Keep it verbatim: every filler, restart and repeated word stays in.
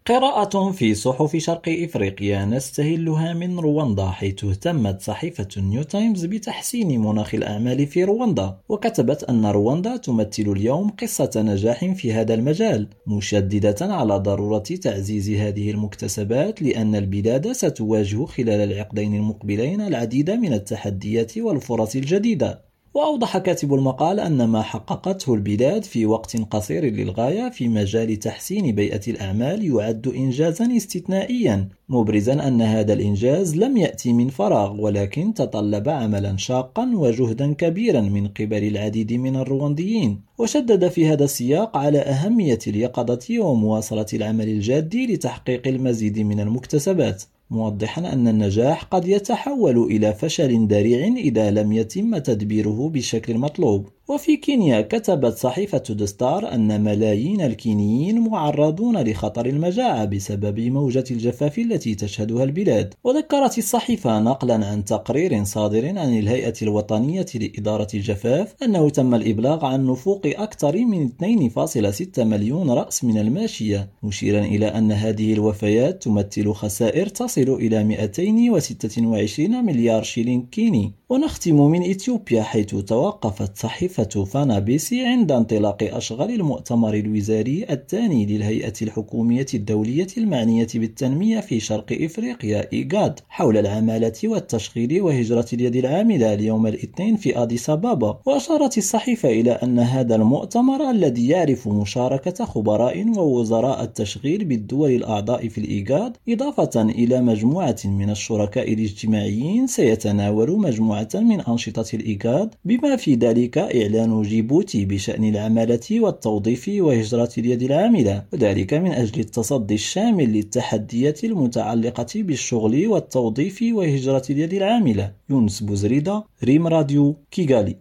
قراءة في صحف شرق إفريقيا نستهلها من رواندا، حيث اهتمت صحيفة نيو تايمز بتحسين مناخ الأعمال في رواندا، وكتبت أن رواندا تمثل اليوم قصة نجاح في هذا المجال، مشددة على ضرورة تعزيز هذه المكتسبات لأن البلاد ستواجه خلال العقدين المقبلين العديد من التحديات والفرص الجديدة. وأوضح كاتب المقال أن ما حققته البلاد في وقت قصير للغاية في مجال تحسين بيئة الأعمال يعد إنجازا استثنائيا، مبرزا أن هذا الإنجاز لم يأتي من فراغ ولكن تطلب عملا شاقا وجهدا كبيرا من قبل العديد من الروانديين. وشدد في هذا السياق على أهمية اليقظة ومواصلة العمل الجاد لتحقيق المزيد من المكتسبات، موضحا أن النجاح قد يتحول إلى فشل ذريع إذا لم يتم تدبيره بالشكل المطلوب. وفي كينيا كتبت صحيفة دستار أن ملايين الكينيين معرضون لخطر المجاعة بسبب موجة الجفاف التي تشهدها البلاد. وذكرت الصحيفة نقلا عن تقرير صادر عن الهيئة الوطنية لإدارة الجفاف أنه تم الإبلاغ عن نفوق أكثر من اثنين فاصلة ستة مليون رأس من الماشية، مشيرا إلى أن هذه الوفيات تمثل خسائر تصل إلى مئتين وستة وعشرين مليار شيلين كيني. ونختم من إثيوبيا، حيث توقفت صحيفة فانا بيسي عند انطلاق أشغال المؤتمر الوزاري الثاني للهيئة الحكومية الدولية المعنية بالتنمية في شرق إفريقيا إيغاد حول العمالة والتشغيل وهجرة اليد العاملة اليوم الاثنين في أديس أبابا. وأشارت الصحيفة إلى أن هذا المؤتمر الذي يعرف مشاركة خبراء ووزراء التشغيل بالدول الأعضاء في الإيغاد إضافة إلى مجموعة من الشركاء الاجتماعيين سيتناول مجموعة من أنشطة الإيغاد، بما في ذلك إعلان جيبوتي بشأن العمالة والتوظيف وهجرة اليد العاملة، وذلك من أجل التصدي الشامل للتحديات المتعلقة بالشغل والتوظيف وهجرة اليد العاملة. يونس بوزريدة، ريم راديو، كيغالي.